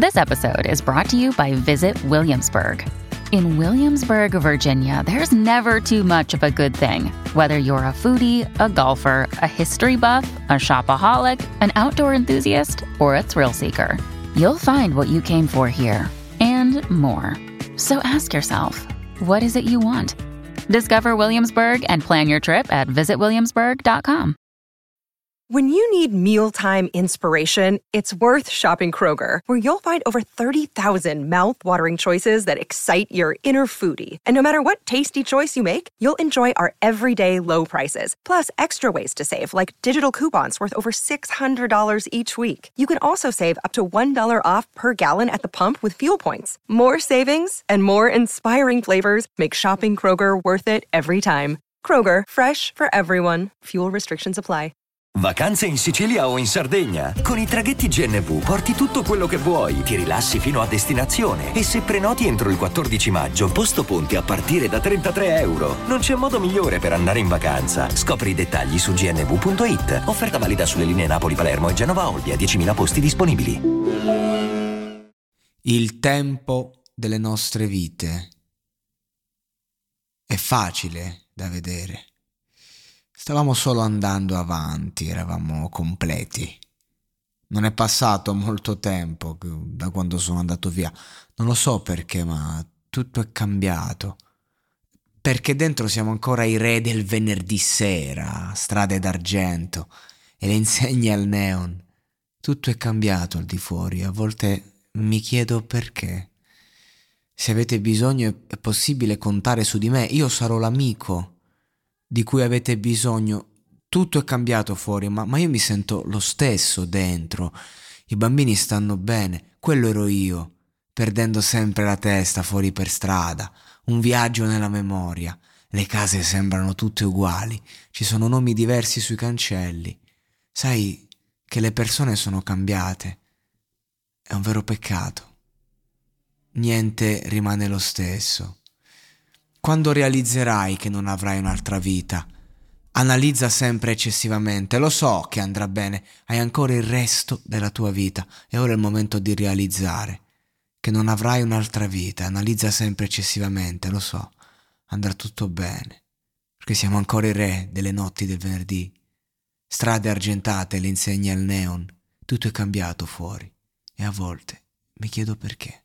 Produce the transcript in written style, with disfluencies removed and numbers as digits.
This episode is brought to you by Visit Williamsburg. In Williamsburg, Virginia, there's never too much of a good thing. Whether you're a foodie, a golfer, a history buff, a shopaholic, an outdoor enthusiast, or a thrill seeker, you'll find what you came for here and more. So ask yourself, what is it you want? Discover Williamsburg and plan your trip at visitwilliamsburg.com. When you need mealtime inspiration, it's worth shopping Kroger, where you'll find over 30,000 mouth-watering choices that excite your inner foodie. And no matter what tasty choice you make, you'll enjoy our everyday low prices, plus extra ways to save, like digital coupons worth over $600 each week. You can also save up to $1 off per gallon at the pump with fuel points. More savings and more inspiring flavors make shopping Kroger worth it every time. Kroger, fresh for everyone. Fuel restrictions apply. Vacanze in Sicilia o in Sardegna. Con i traghetti GNV porti tutto quello che vuoi, ti rilassi fino a destinazione e se prenoti entro il 14 maggio, posto ponti a partire da €33. Non c'è modo migliore per andare in vacanza. Scopri i dettagli su gnv.it. Offerta valida sulle linee Napoli-Palermo e Genova-Olbia, 10.000 posti disponibili. Il tempo delle nostre vite è facile da vedere. Stavamo solo andando avanti, eravamo completi. Non è passato molto tempo da quando sono andato via. Non lo so perché, ma tutto è cambiato. Perché dentro siamo ancora i re del venerdì sera, strade d'argento e le insegne al neon. Tutto è cambiato al di fuori. A volte mi chiedo perché. Se avete bisogno è possibile contare su di me. Io sarò l'amico di cui avete bisogno. Tutto è cambiato fuori, ma io mi sento lo stesso dentro. I bambini stanno bene, quello ero io, perdendo sempre la testa fuori per strada, un viaggio nella memoria. Le case sembrano tutte uguali, ci sono nomi diversi sui cancelli. Sai che le persone sono cambiate. È un vero peccato. Niente rimane lo stesso. Quando realizzerai che non avrai un'altra vita, analizza sempre eccessivamente. Lo so che andrà bene, hai ancora il resto della tua vita e ora è il momento di realizzare che non avrai un'altra vita. Analizza sempre eccessivamente, lo so, andrà tutto bene, perché siamo ancora i re delle notti del venerdì. Strade argentate, le insegne al neon, tutto è cambiato fuori e a volte mi chiedo perché.